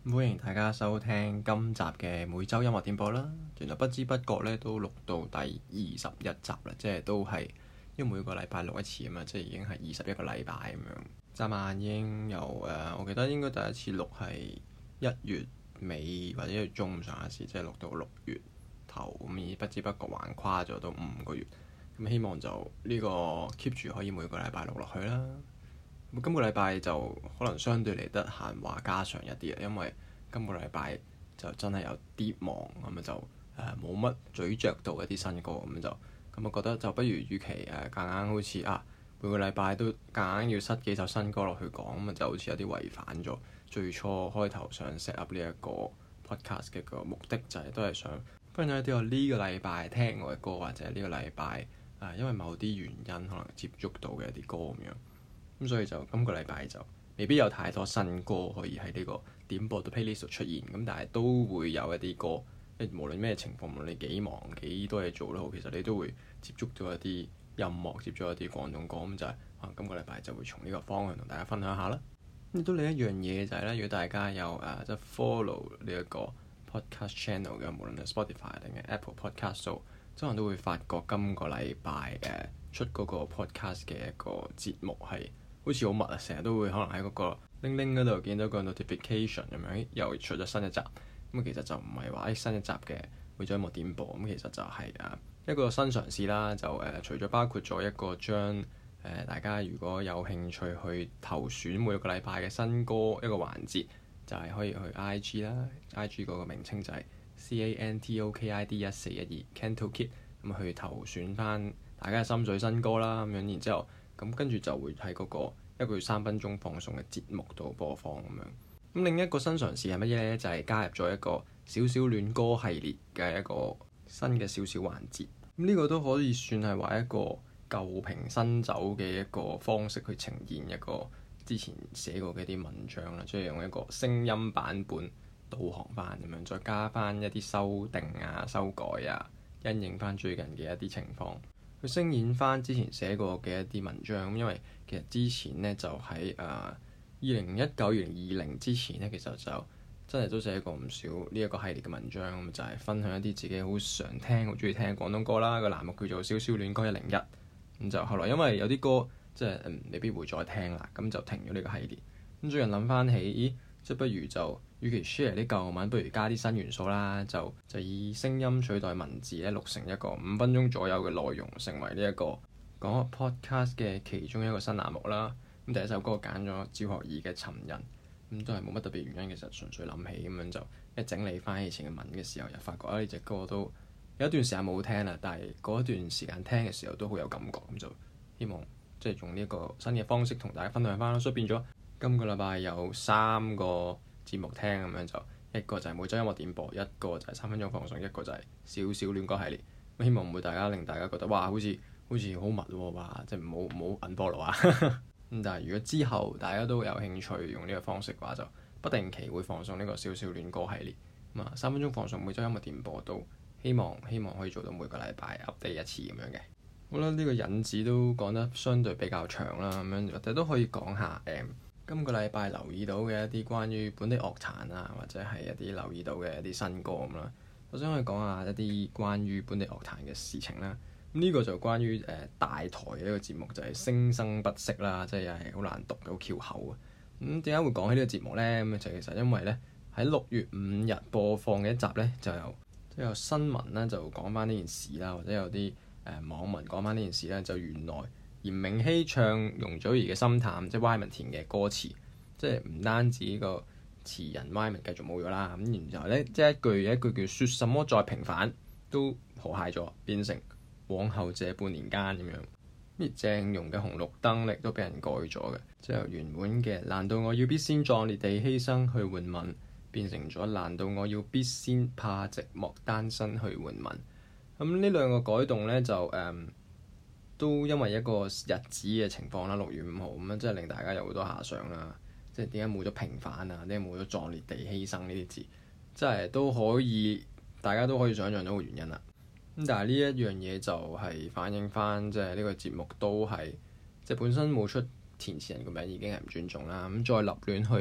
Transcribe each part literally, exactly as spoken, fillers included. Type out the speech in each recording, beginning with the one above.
歡迎大家收聽今集嘅每周音樂點播啦。原來不知不覺咧都錄到第二十一集啦，即係都係因為每個禮拜錄一次啊嘛，即係已經係二十一個禮拜咁樣。眨眼已經由誒、呃，我記得應該第一次錄係一月尾或者一月中上下時，即係錄到六月頭咁，而不知不覺橫跨咗到五個月。咁希望就呢個 keep 住可以每個禮拜錄落去啦。咁今個禮拜就可能相對嚟得閒話家常一啲啊，因為今個禮拜就真係有啲忙，咁啊就誒冇乜咀嚼到一啲新歌，咁就咁我覺得就不如與其誒夾硬好似啊每個禮拜都夾硬要塞幾首新歌落去講，咁啊就好似有啲違反咗最初開頭想 set up 呢一個 podcast 嘅個目的，就係、是、都係想分享一啲我呢個禮拜聽過嘅歌，或者呢個禮拜誒因為某啲原因可能接觸到嘅一啲歌咁樣。咁所以就今個禮拜就未必有太多新歌可以喺呢個點播到 playlist 度出現，咁但係都會有一啲歌，即無論咩情況，無論你幾忙幾多嘢做都好，其實你都會接觸到一啲音樂，接觸一啲廣東歌，咁就係、是、啊今個禮拜就會從呢個方向同大家分享下啦。咁亦都另一樣嘢就係、是、咧，如果大家有誒、啊、即係 follow 呢一個 podcast channel 嘅，無論係 Spotify 定係 Apple Podcast 度，可能都會發覺今個禮拜誒出嗰個 podcast 嘅一個節目係好似好密啊！成日都會可能喺嗰個鈴鈴嗰度見到個 notification 咁樣，又出咗新一集。咁其實就唔係話誒新一集嘅每週音樂點播，咁其實就係、是、啊一個新嘗試啦。就誒、呃、除咗包括咗一個將誒、呃、大家如果有興趣去投選每個禮拜嘅新歌一個環節，就係、是、可以去 I G 啦 ，I G 嗰個名稱就係 C A N T O K I D 一四一二 Cantokid，咁去投選翻大家嘅心水新歌啦。咁樣然之後。咁跟住就會喺嗰個一個月三分鐘放送嘅節目度播放咁樣。咁另一個新嘗試係乜嘢呢？就係、是、加入咗一個小小戀歌系列嘅一個新嘅小小環節。咁呢個都可以算係話一個舊瓶新酒嘅一個方式去呈現一個之前寫過嘅一啲文章啦，即係用一個聲音版本導航翻咁樣，再加翻一啲修訂啊、修改啊，因應翻最近嘅一啲情況。去聲演翻之前寫過嘅一啲文章，因為其實之前呢，就喺誒二零一九、二零二零之前呢，其實就真係都寫過唔少呢一個系列嘅文章，咁就係、是、分享一啲自己好常聽、好中意聽嘅廣東歌啦。個欄目叫做《小小戀歌一零一》，咁就後來因為有啲歌即係、嗯、未必會再聽啦，咁就停咗呢個系列。咁最近諗翻起，咦，即係不如就與其 share 啲舊文，不如加啲新元素啦，就就以聲音取代文字咧，錄成一個五分鐘左右嘅內容，成為呢一個講 podcast 嘅其中一個新欄目啦。咁第一首歌揀咗趙學而嘅《尋人》，咁都係冇乜特別原因，其實純粹諗起咁樣就一整理翻以前嘅文嘅時候，又發覺啊呢隻歌都有一段時間冇聽啦，但係嗰一段時間聽嘅時候都好有感覺，咁就希望即係用呢一個新嘅方式同大家分享翻啦。所以變咗今個禮拜有三個節目聽，咁樣就一個就係每週音樂點播，一個就係三分鐘放送，一個就係小小戀歌系列。咁希望唔會大家令大家覺得哇好似好似好密喎，哇即係唔好唔好 unfollow 啊咁。但係如果之後大家都有興趣用呢個方式嘅話，就不定期會放送呢個小小戀歌系列。咁啊三分鐘放送每週音樂點播都希望希望可以做到每個禮拜 update 一次咁樣嘅。好啦，呢、這個引子都講得相對比較長啦，咁樣我哋都可以講下誒。嗯今個禮拜留意到嘅一啲關於本地樂壇啊，或者係一啲留意到嘅一啲新歌咁啦，我想去講下一啲關於本地樂壇嘅事情啦。咁、這、呢個就關於誒、呃、大台嘅一個節目，就係、是、聲生不息啦，即係又係好難讀嘅，好翹口啊。咁點解會講起呢個節目呢？咁就其實因為呢，喺六月五日播放嘅一集呢，就有即係有新聞啦，就講翻呢件事啦，或者有啲誒、呃、網民講翻呢件事咧，就原來。嚴明熙唱容祖兒嘅《心淡》，即係 Wyman 填嘅歌詞，即係唔單止個詞人 Wyman 繼續冇咗啦，咁然後咧，即係一句一句叫説什麼再平反都和諧咗，變成往後這半年間咁樣。而鄭融嘅《紅綠燈》亦都俾人改咗嘅，即係由原本嘅難道我要必先壯烈地犧牲去換吻，變成咗難道我要必先怕寂寞單身去換吻。咁呢兩個改動咧就誒。嗯都因為一個日子嘅情況啦，六月五號咁樣，即係令大家有好多遐想啦。即係點解冇咗平反啊？點解冇咗壯烈地犧牲呢啲字？即係都可以，大家都可以想像到個原因啦。咁但係呢一樣嘢就係反映翻，即係呢個節目都係即係本身冇出填詞人個名已經係唔尊重啦。咁再立亂去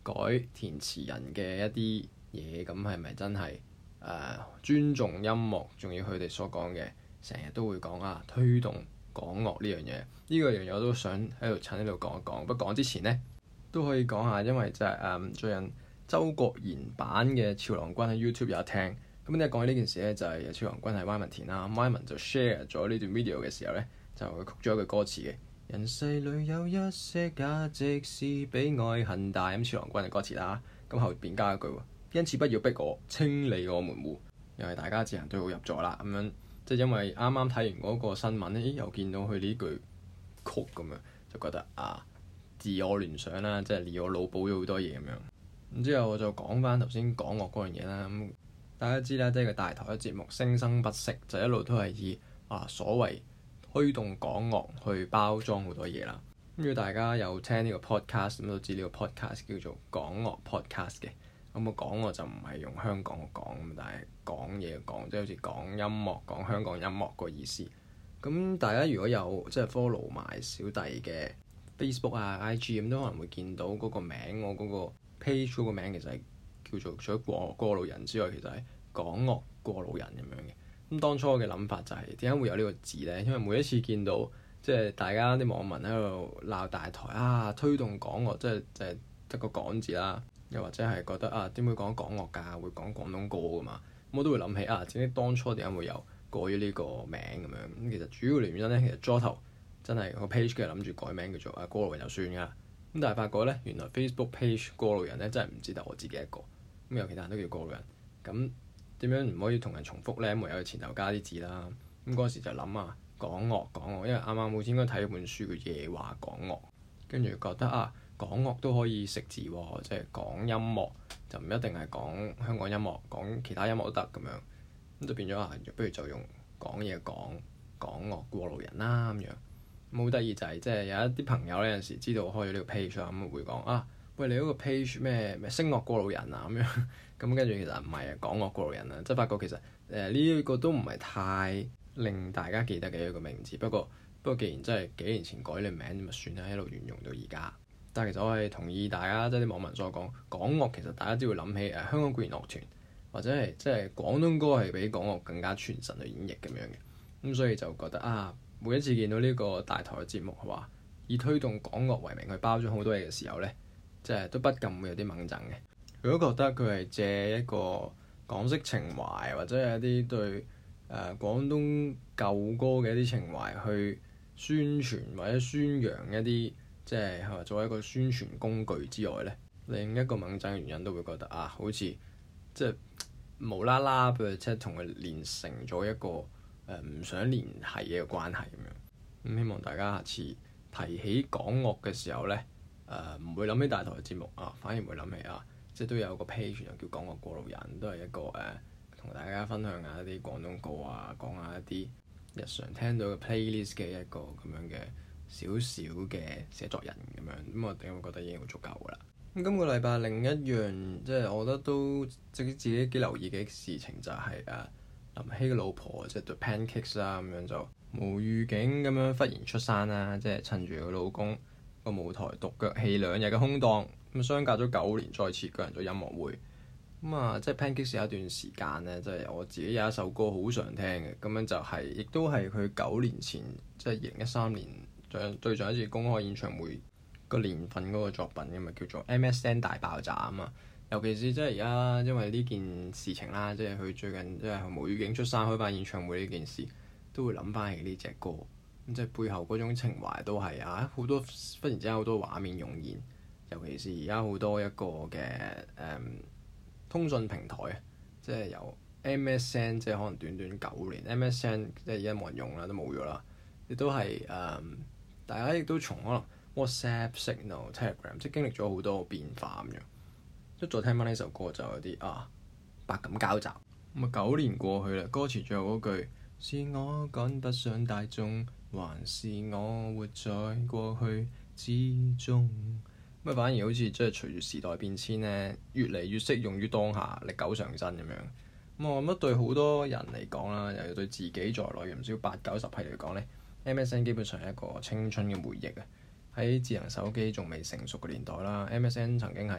改填詞人嘅一啲嘢，咁係咪真係誒、呃、尊重音樂？仲要佢哋所講嘅，成日都會講啊，推動港樂呢樣嘢。呢、這個樣嘢我都想喺度趁呢度講一講。不過講之前呢，都可以講下，因為就係、是、誒、嗯、最近周國賢版嘅俏郎君喺 YouTube 有得聽。咁你講起呢件事咧，就係俏郎君係 Wyman 填啦。Wyman 就 share 咗呢段 video 嘅時候咧，就佢曲咗一句歌詞嘅：人世裏有一些價值是比愛恨大。咁俏郎君嘅歌詞啦，咁後邊加一句喎，因此不要逼我清理我門戶，又係大家自行對號入座啦。咁樣即係因為啱啱睇完嗰個新聞咧，又見到佢呢句曲咁樣，就覺得啊，自我聯想啦，即係自我腦補咗好多嘢咁樣。咁之後我就講翻頭先港樂嗰樣嘢啦。咁大家知啦，即係個大台嘅節目生生不息，就一路都係以啊所謂推動港樂去包裝好多嘢啦。咁如果大家有聽呢個 podcast，咁都知呢個 podcast 叫做港樂 podcast 嘅。咁個港樂就唔係用香港嘅港，但係講嘢嘅講，即係好似講音樂、講香港音樂個意思。咁大家如果有即係 follow 埋小弟嘅 Facebook 啊、I G 咁，都可能會見到嗰個名，我嗰個 page 嗰個名其實係叫做除咗過過路人之外，其實係港樂過路人咁樣嘅。咁當初嘅諗法就係點解會有呢個字呢？因為每一次見到即係大家啲網民喺度鬧大台啊，推動港樂，即係就係得個港字啦。又或者係覺得啊，點會講港樂㗎？會講廣東歌㗎嘛？咁我都會諗起啊，自己當初點解會有改咗呢個名咁樣？咁其實主要原因咧，其實初頭真係個 page 嘅諗住改名叫做啊過路人就算㗎啦。咁但係發覺咧，原來 Facebook page 過路人咧真係唔止得我自己一個，咁有其他人都叫過路人。咁點樣唔可以同人重複咧？唯有前頭加啲字啦。咁嗰時就諗啊，港樂港樂，因為啱啱好似應該睇一本書叫《夜話港樂》，跟住覺得啊。港樂都可以食字喎，即係講音樂就唔一定係講香港音樂，講其他音樂都得咁樣，咁就變咗啊！不如就用講嘢講港樂過路人啦咁樣。咁好得意就係即係有一啲朋友咧，有陣時知道我開咗呢個 page 咁會講啊，喂，你嗰個 page 咩咩聲樂過路人啊咁樣，咁跟住其實唔係啊，港樂過路人啊，即係發覺其實誒呢一個都唔係太令大家記得嘅一個名字。不過不過既然真係幾年前改你名，咁咪算啦，一路沿用到而家。但係其實我係同意大家即係啲網民所講，港樂其實大家只會諗起誒、呃、香港管弦樂團，或者係即係廣東歌係比港樂更加傳神去演繹咁樣嘅。咁所以就覺得啊，每一次見到呢個大台嘅節目係話以推動港樂為名去包裝好多嘢嘅時候咧，即係都不禁會有啲掹憎嘅。如果覺得佢係借一個港式情懷，或者係一啲對誒、呃、廣東舊歌嘅一啲情懷去宣傳或者宣揚一啲。即係係作為一個宣傳工具之外咧，另一個掹憎嘅原因都會覺得啊，好似即係無啦啦，譬如即係同佢連成咗一個誒唔、呃、想聯繫嘅關係咁樣。咁、嗯、希望大家下次提起港樂嘅時候咧，誒、呃、唔會諗起大台嘅節目啊，反而會諗起啊，即係都有個 page 又叫港樂過路人，都係一個誒同、呃、大家分享下一啲廣東歌啊，講下一啲日常聽到嘅 playlist 嘅一個咁樣嘅。少少嘅寫作人咁樣，咁我點會覺得已經好足夠㗎啦。咁今個禮拜另一樣即係我覺得都即係自己幾留意嘅事情就係、是、誒、啊、林夕嘅老婆即係 The Pancakes 啦，咁樣就無預警咁樣忽然出山啦，即係趁住佢老公個舞台獨腳戲兩日嘅空檔，咁相隔咗九年再次舉行咗音樂會。咁啊，即係 Pancakes 有一段時間咧，即係我自己有一首歌好常聽嘅，咁樣就係、是、亦都係佢九年前即係二零一三年。對上一次公開演唱會個年份嗰個作品咁啊，叫做 M S N 大爆炸啊嘛。尤其是即係而家因為呢件事情啦，即係佢最近即係無預警出山開翻演唱會呢件事，都會諗翻起呢隻歌。咁即係背後嗰種情懷都係啊，好多忽然之間好多畫面湧現。尤其是而家好多一個嘅誒、嗯、通訊平台啊，即係由 M S N 即係可能短短九年 M S N 即係而家冇人用啦，都冇咗啦，亦都係誒。嗯大家亦都從可能 WhatsApp、Signal、Telegram 即係經歷咗好多變化咁樣，即再聽翻呢首歌就有啲啊百感交集。咁啊九年過去啦，歌詞最後嗰句是我趕不上大眾，還是我活在過去之中？咁啊反而好似即係隨住時代變遷咧，越嚟越適用於當下，歷久常新咁樣。咁我覺得對好多人嚟講啦，又要對自己在內唔少八九十批嚟講咧。M S N 基本上係一個青春嘅回憶啊！喺智能手機仲未成熟嘅年代啦，M S N 曾經係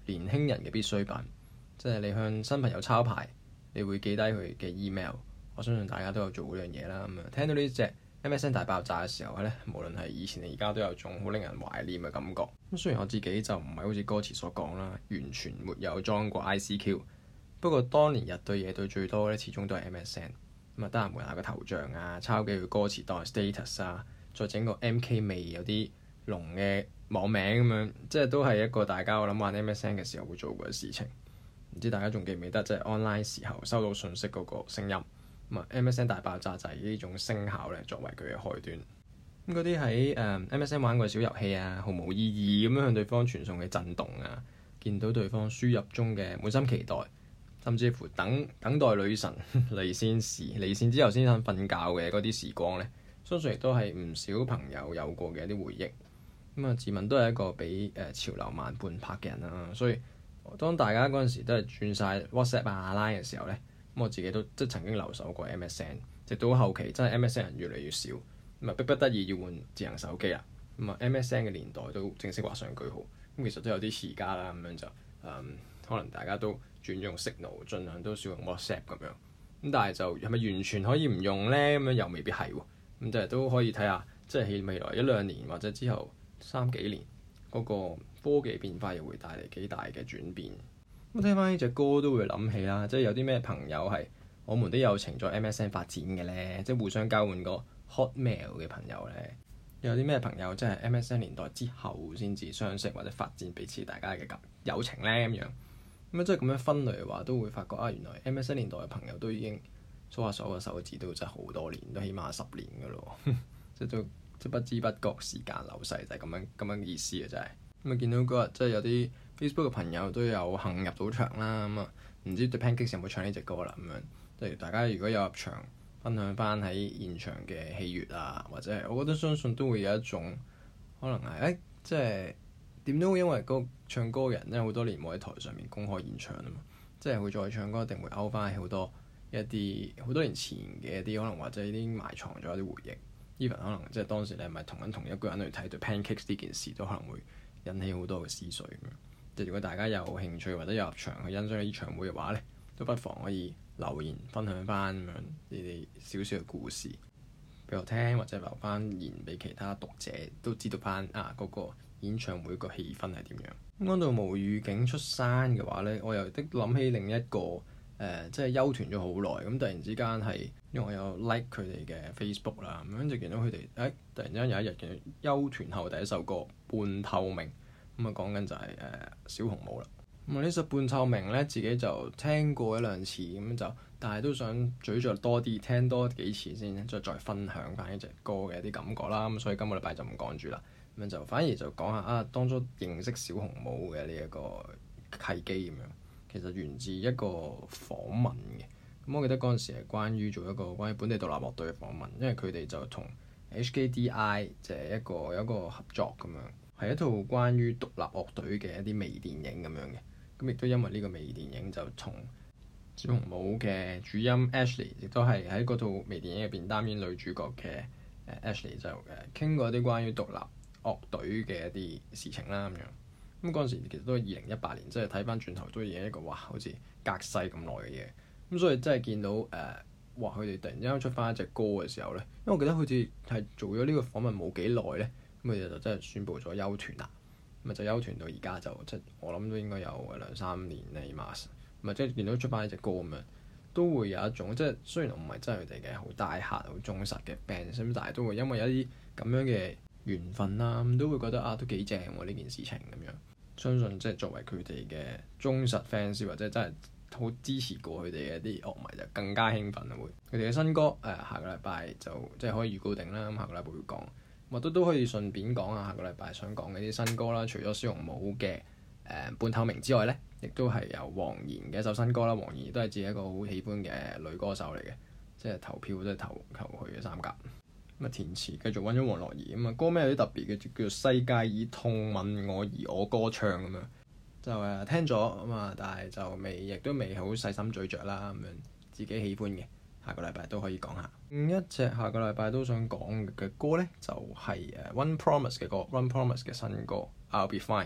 年輕人嘅必需品，即係你向新朋友抄牌，你會記低佢嘅 email。我相信大家都有做嗰樣嘢啦。咁啊，聽到呢隻 M S N 大爆炸嘅時候咧，無論係以前定而家都有種好令人懷念嘅感覺。咁雖然我自己就唔係好似歌詞所講啦，完全沒有裝過 I C Q， 不過當年日對夜對最多咧，始終都係 M S N。咁啊，得閒換下個頭像啊，抄幾句歌詞當係 status 啊，再整個 M K 味有啲濃嘅網名咁樣，即係都係一個大家我諗玩 M S N 嘅時候會做過嘅事情。唔知大家仲記唔記得即係 online 時候收到信息嗰個聲音？咁啊，M S N 大爆炸就係呢種聲效咧，作為佢嘅開端。咁嗰啲喺誒 M S N 玩過小遊戲啊，毫無意義咁樣向對方傳送嘅震動啊，見到對方輸入中嘅滿心期待，甚至乎等等待女神離線時離線之後先肯瞓覺嘅嗰啲時光咧，相信亦都係唔少朋友有過嘅一啲回憶。咁啊，自問都係一個比誒潮流慢半拍嘅人啦，所以當大家嗰陣時都係轉晒 WhatsApp 啊 Line 嘅時候咧。咁我自己都即係曾經留守過 M S N， 直到後期真係 M S N 人越嚟越少，咁啊逼不得已要換智能手機啦。咁啊 M S N 嘅年代都正式畫上句號。咁其實都有啲遲家啦，咁樣就誒、嗯、可能大家都轉用 Signal，盡量都少用 WhatsApp 咁樣。咁但係就係咪完全可以唔用咧？咁樣又未必係喎。咁就係都可以睇下，即係喺未來一兩年或者之後三幾年嗰、那個科技變化又會帶嚟幾大嘅轉變。咁聽翻呢隻歌都會諗起啦，即係有啲咩朋友係我們的友情在 M S N 發展嘅咧，即係互相交換個 Hotmail 嘅朋友咧。有啲咩朋友即係 M S N 年代之後先至相識或者發展彼此大家嘅友情咧咁樣。咁啊，即係咁樣分類嘅話，都會發覺啊，原來 M S N 年代嘅朋友都已經數下數個手指都真係好多年，都起碼十年噶咯。即係都即係不知不覺時間流逝就係咁樣咁樣意思啊！真係咁啊，見到嗰日即係有啲 Facebook 嘅朋友都有幸入到場啦，咁啊唔知 The Pancakes 有冇唱呢隻歌啦咁樣。即係大家如果有入場分享翻喺現場嘅喜悅啊，或者係我覺得相信都會有一種可能係誒、欸，即係點都會因為個唱歌嘅人咧好多年冇喺台上面公開演唱啊嘛，即係會再唱歌一定會勾翻好多一啲好多年前嘅一啲可能或者已經埋藏咗一啲回憶。Even 可能即係當時你係咪同緊同一個人去睇 The Pancakes 呢件事，都可能會引起好多嘅思緒咁樣。即係如果大家有興趣或者有入場去欣賞呢場會嘅話咧，都不妨可以留言分享翻咁樣你哋少少嘅故事俾我聽，或者留翻言俾其他讀者都知道翻啊嗰個演唱會個氣氛係點樣。咁講到無預警出山嘅話咧，我又的諗起另一個誒、呃，即係休團咗好耐，咁突然之間係因為我有 like 佢哋嘅 Facebook 啦，咁樣就見到佢哋誒突然之間有一日嘅休團後第一首歌《半透明》。咁啊，講緊就係誒小紅帽啦。咁啊，呢首半透明咧，自己就聽過一兩次咁就，但係都想咀嚼多啲，聽多幾次先，再再分享翻呢隻歌嘅一啲感覺啦。咁所以今個禮拜就唔講住啦，咁樣就反而就講下啊，當初認識小紅帽嘅呢一個契機咁樣，其實源自一個訪問嘅。咁我記得嗰陣時係關於做一個關於本地獨立樂隊嘅訪問，因為佢哋就同 H K D I 就係一個有一個合作咁樣。係一套關於獨立樂隊嘅一啲微電影咁樣嘅，咁亦都因為呢個微電影就同小紅帽嘅主音 Ashley，亦都係喺嗰套微電影入邊擔演女主角嘅誒 Ashley 就誒傾過一啲關於獨立樂隊嘅一啲事情啦咁樣。咁嗰陣時其實都係二零一八年，即係睇翻轉頭都已經一個哇，好似隔世咁耐嘅嘢。咁所以真係見到誒、呃，哇！佢哋突然之間出翻一隻歌嘅時候咧，因為我記得好似係做咗呢個訪問冇幾耐咧。咁佢哋就真係宣布咗休團啦，咁啊就休團到而家就即係我諗都應該有兩三年啦，起碼咁啊即係見到出翻呢隻歌咁樣，都會有一種即係雖然我唔係真係佢哋嘅好大客、好忠實嘅 band，咁但係都會因為有一啲咁樣嘅緣分啦，咁都會覺得啊都幾正喎呢件事情咁樣。相信即係作為佢哋嘅忠實 fans 或者真係好支持過佢哋嘅一啲樂迷就更加興奮啦會。佢哋嘅新歌誒、呃、下個禮拜就即係可以預告定啦，咁下個禮拜會講。或者都可以順便講下下個禮拜想講嘅啲新歌啦。除咗小紅帽嘅誒、呃、半透明之外咧，亦都係有黃妍嘅一首新歌啦。黃妍亦都係自己一個好喜歡嘅女歌手嚟嘅，即係投票都係投投佢嘅三甲。咁啊填詞繼續揾咗黃樂怡咁啊，歌名有啲特別嘅，叫做世界以痛吻我而我歌唱咁樣。就誒聽咗咁啊，但係就未亦都未好細心咀嚼啦咁樣，自己喜歡嘅。下個禮拜都可以講下。另一隻下個禮拜都想講嘅歌咧，就係、是、誒 One Promise 嘅歌，One Promise 嘅新歌 I'll Be Fine。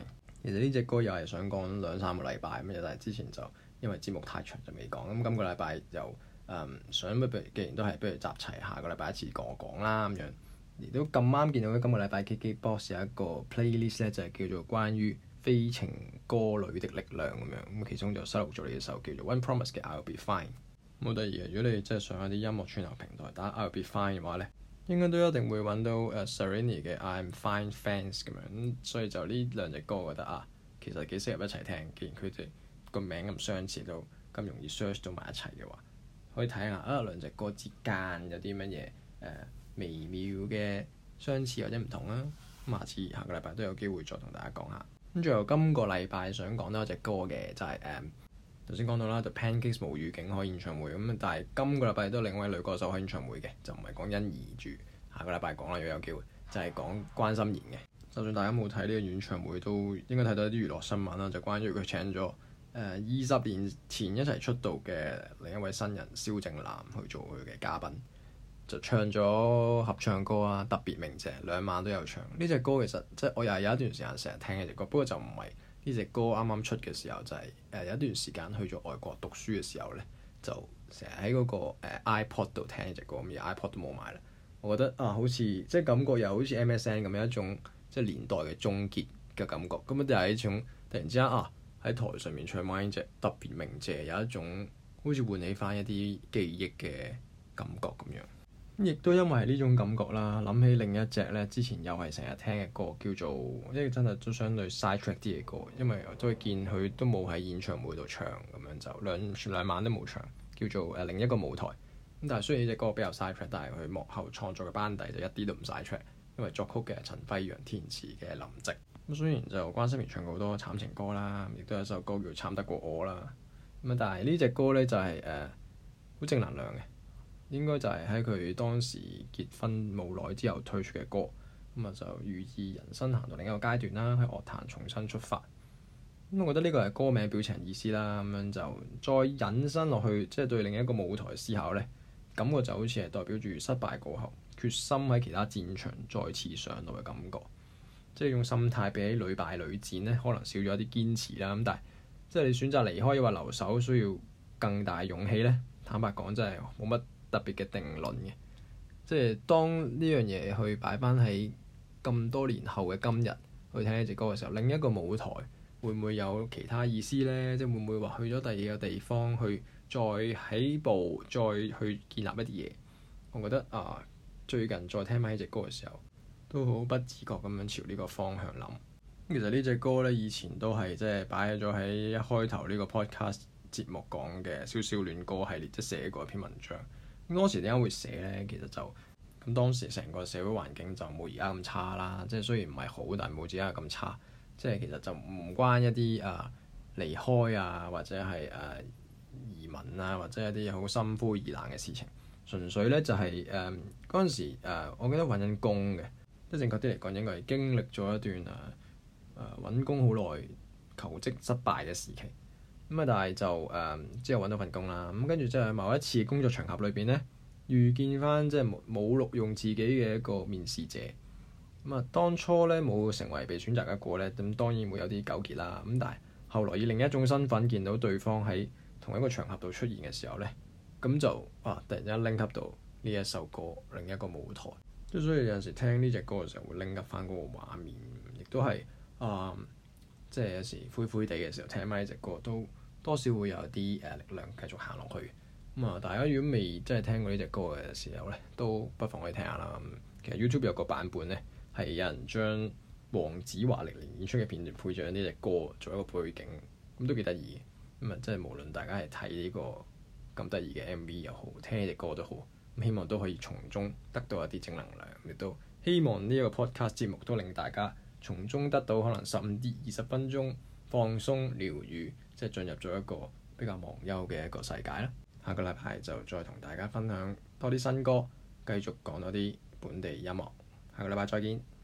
其實呢隻歌又係想講兩三個禮拜咁，但係之前就因為節目太長就未講。咁今個禮拜又誒、嗯、想不如既然都係不如集齊，下個禮拜一次講講啦咁樣。亦都咁啱見到咧，今個禮拜 K K Box 有一個 playlist 咧，就係叫做關於非情歌裡的力量咁樣。咁其中就收錄咗呢一首叫做 One Promise 嘅 I'll Be Fine。好得意嘅，如果你真係上一啲音樂串流平台打 I'll Be Fine 嘅話咧，應該都一定會揾到誒、uh, Serrini 嘅 I'm Fine Fans 咁樣。咁所以就呢兩隻歌，我覺得啊，其實幾適合一齊聽。既然佢哋個名咁相似，都咁容易 search 到埋一齊嘅話，可以睇下啊兩隻歌之間有啲乜嘢誒微妙嘅相似或者唔同啦。咁下次下個禮拜都有機會再同大家講下。咁最後今個禮拜想講多一隻歌嘅就係誒頭先講到啦，就 Pancakes 無預警開演唱會咁，但係今個禮拜都另一位女歌手開演唱會嘅，就唔係講欣宜住。下個禮拜講啦，如果有機會就係、是、講關心妍嘅。就算大家冇睇呢個演唱會，都應該睇到一啲娛樂新聞啦，就關於佢請咗誒二十年前一齊出道嘅另一位新人蕭正楠去做佢嘅嘉賓。就唱咗合唱歌啊，特別鳴謝兩晚都有唱。呢隻歌其實即係我又係有一段時間成日聽呢隻歌，不過就唔係呢隻歌啱啱出嘅時候，就係、是、誒、呃、有一段時間去咗外國讀書嘅時候咧，就成日喺嗰個、呃、iPod 度聽呢隻歌，咁而 iPod 都冇買啦。我覺得啊，好似即係感覺又好似 M S N 咁樣一種即係年代嘅終結嘅感覺。咁啊，就係一種突然之間啊喺台上面唱翻呢隻特別鳴謝，有一種好似喚起翻一啲記憶嘅感覺咁樣。亦都因為係呢種感覺啦，諗起另一隻咧，之前又係成日聽嘅歌，叫做呢個真係都相對 side track 啲嘅歌，因為我都會見佢都冇喺演唱會度唱咁樣，就兩兩晚都冇唱，叫做誒、呃、另一個舞台。咁但係雖然呢隻歌比較 side track，但係佢幕後創作嘅班底就一啲都唔 side track，因為作曲嘅陳輝陽、填詞嘅林夕。咁雖然就關心妍唱過好多慘情歌啦，亦都有一首歌叫《慘得過我》啦。咁啊，但係呢隻歌咧就係誒好正能量嘅。應該就係喺佢當時結婚冇耐之後推出嘅歌，咁啊就寓意人生行到另一個階段啦，喺樂壇重新出發。咁我覺得呢個係歌名表情意思啦，咁樣就再引申落去，即係對另一個舞台思考呢，感覺就好似係代表住失敗過後，決心喺其他戰場再次上路嘅感覺。即係用心態比起屢敗屢戰呢，可能少咗一啲堅持啦。咁但係即係你選擇離開，抑或留守，需要更大勇氣呢。坦白講，真係冇乜特別嘅定論嘅，即係當呢樣嘢去擺翻喺咁多年後嘅今日去聽呢隻歌嘅時候，另一個舞台會唔會有其他意思呢？即係會唔會話去咗第二個地方去再起步，再去建立一啲嘢？我覺得啊，最近再聽翻呢隻歌嘅時候，都好不自覺咁樣朝呢個方向諗。其實呢隻歌呢，以前都係即係擺咗喺一開頭呢個 podcast 節目講嘅少少戀歌系列，即係寫過一篇文章。咁當時點解會寫呢？其實就咁當時成個社會環境就冇而家咁差啦，即係雖然唔係好，但係冇而家咁差。即係其實就唔關一啲啊離開啊，或者係誒、啊、移民啊，或者一啲好心灰意冷嘅事情。純粹咧就係誒嗰陣時、啊、我記得揾緊工嘅，即係正確啲嚟講應該係經歷咗一段誒誒揾工好耐、求職失敗嘅時期。咁啊，但係就誒、嗯、之後揾到份工啦。咁跟住即係某一次工作場合裏邊咧，遇見翻即係冇冇錄用自己嘅一個面試者。咁啊，當初咧冇成為被選擇嘅一個咧，咁當然會有啲糾結啦。咁但係後來以另一種身份見到對方喺同一個場合度出現嘅時候咧，咁就啊突然之間拎及到呢一首歌另一個舞台。即係所以有陣時聽呢隻歌嘅時候會拎及翻嗰個畫面，亦都係啊。嗯即係有時灰灰地嘅時候聽翻呢隻歌，都多少會有啲誒力量繼續行落去。咁啊，大家如果未真係聽過呢隻歌嘅時候咧，都不妨可以聽下啦。其實 YouTube 有個版本咧，係有人將黃子華歷年演出嘅片段配上呢隻歌做一個背景，咁都幾得意嘅。咁啊，即係無論大家係睇呢個咁得意嘅 M V 又好，聽呢隻歌都好，咁希望都可以從中得到一啲正能量。亦都希望呢一個 podcast 節目都令大家從中得到可能十五至二十分鐘放鬆療癒，即係進入咗一個比較忘憂嘅一個世界啦。下個禮拜就再同大家分享多啲新歌，繼續講多啲本地音樂。下個禮拜再見。